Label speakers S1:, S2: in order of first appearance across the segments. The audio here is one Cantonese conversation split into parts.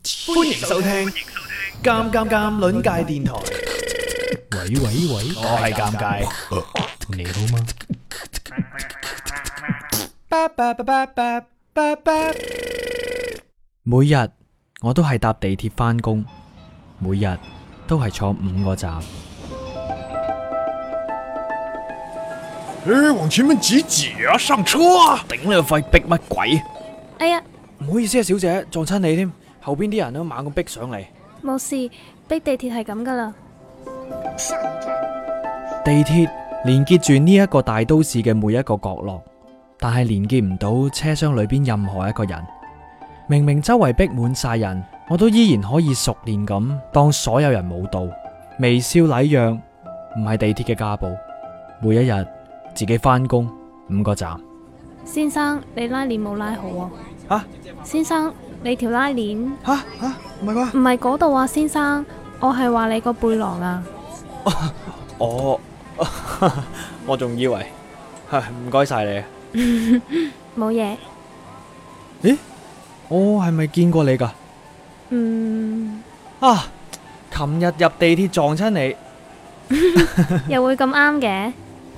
S1: 歡迎收聽尷尷尷鄰界電台。
S2: 喂，
S1: 我係尷尬，
S2: 你好嗎？每日我都係搭地鐵返工，每日都係坐5個站。
S1: 往前面擠啊，上車啊！頂你個肺，逼乜鬼？
S3: 哎呀，
S2: 唔好意思啊，小姐，撞親你添，後邊啲人都猛咁逼上嚟。
S3: 冇事，逼地鐵係咁噶啦。
S2: 地鐵連結住呢一個大都市嘅每一個角落，但係連結唔到車廂裏邊任何一個人。明明周圍逼滿晒人，我都依然可以熟練咁當所有人冇到，微笑禮讓，唔係地鐵嘅家暴。每一日自己返工5個站。
S3: 先生，你拉鏈冇拉好啊！
S2: 吓？
S3: 先生，你條拉鏈
S2: 吓？唔係啩？
S3: 唔係嗰度啊，先生，我係話你個背囊啊。
S2: 我仲以為唔該晒你啊。
S3: 冇嘢。
S2: 咦？我係咪見過你噶？琴日入地鐵撞親你。
S3: 又會咁啱嘅？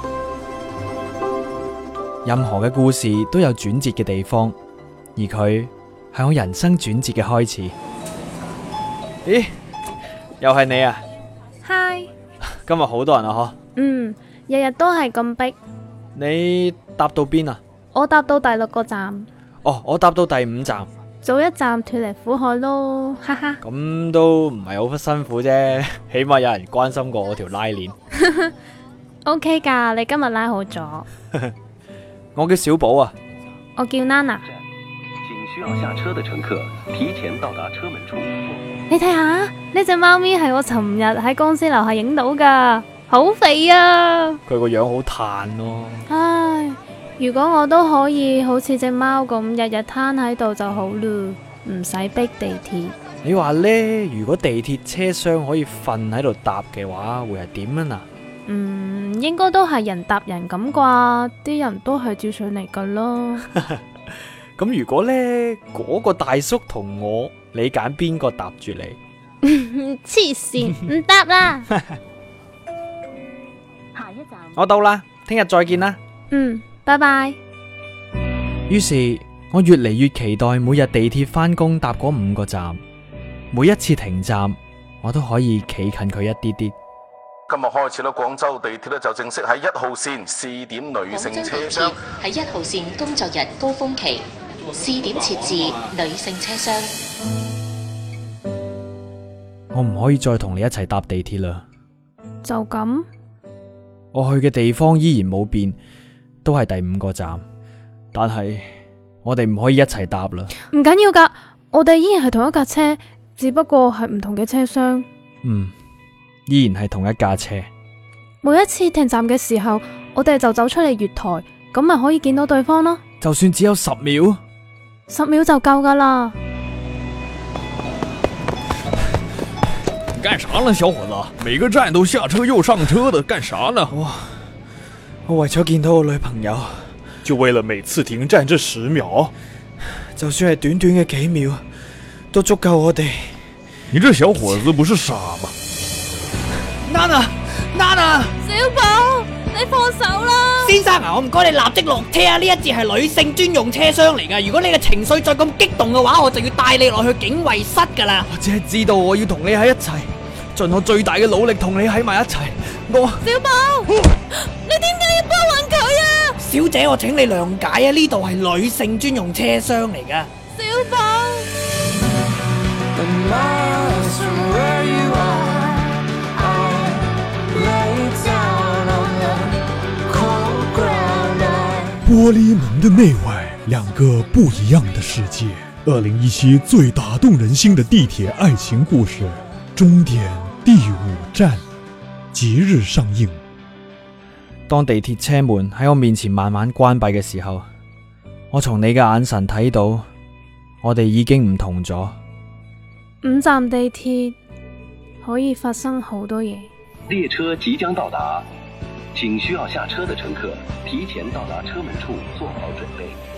S2: 任何嘅故事都有轉折嘅地方，而佢係我人生轉折嘅開始。咦？又係你啊？
S3: 嗨，
S2: 今日好多人啊，
S3: 日日都係咁逼。
S2: 你搭到邊啊？
S3: 我搭到第6個站。
S2: 哦，我搭到第5站。
S3: 早一站脫離苦海咯，哈哈。
S2: 咁都唔係好辛苦啫，起碼有人關心過我條拉鏈。
S3: OK 噶，你今日拉好咗。
S2: 我叫小寶啊。
S3: 我叫 Nana。
S4: 請需要下車的乘客提前到達車門處。
S3: 你睇下呢隻貓咪係我尋日喺公司樓下影到噶，好肥啊！
S2: 佢個樣好嘆咯。
S3: 唉，如果我都可以好似隻貓咁日日攤喺度就好咯，唔使逼地鐵。
S2: 你話呢？如果地鐵車廂可以瞓喺度搭嘅話，會係點啊？
S3: 應該都係人搭人咁啩，啲人都係照上嚟噶咯。
S2: 咁如果呢嗰個大叔同我，你揀邊個搭住你？
S3: 黐線，唔搭啦。
S5: 下一站，
S2: 我到啦，聽日再見啦。
S3: 拜拜。
S2: 於是我越嚟越期待每日地鐵返工搭嗰5個站，每一次停站我都可以企近佢一啲啲。
S6: 今日開始啦，廣州地鐵咧就正式喺1號線試點女性車廂。
S5: 喺1號線工作日高峰期試點設置女性車廂。
S2: 我唔可以再同你一齊搭地鐵啦。
S3: 就咁？
S2: 我去嘅地方依然冇變，都係第5個站，但係我哋唔可以一齊搭啦。
S3: 唔緊要噶，我哋依然係同一架車，只不過係唔同嘅車廂。
S2: 依然係同一架車。
S3: 每一次停站嘅時候，我哋就走出嚟月台，咁咪可以見到對方咯。
S2: 就算只有10秒
S3: ，10秒就夠噶啦。
S1: 幹啥呢，小伙子？每個站都下車又上車的，幹啥呢？
S2: 我為咗見到我女朋友，
S1: 就為了每次停站這10秒，
S2: 就算係短短嘅幾秒，都足夠我哋。
S1: 你這小伙子不是傻嗎
S2: ？Nana，
S3: 小寶，你放手啦！
S7: 先生啊，我唔該你立即落車啊！呢一節係女性專用車廂嚟噶，如果你嘅情緒再咁激動嘅話，我就要帶你落去警衛室噶啦。
S2: 我只係知道我要同你喺一齊，盡我最大嘅努力同你喺埋一齊。
S3: 小寶，你點解要幫揾佢啊？
S7: 小姐，我請你諒解啊，呢度係女性專用車廂嚟噶。
S3: 小寶。
S8: 玻璃門的內外，兩個不一樣的世界。2017最打動人心的地鐵愛情故事，終點第5站，即日上映。
S2: 當地鐵車門喺我面前慢慢關閉嘅時候，我從你嘅眼神睇到，我哋已經唔同咗。
S3: 5站地鐵可以發生好多嘢。
S4: 列車即將到達，請需要下車的乘客提前到達車門處做好準備。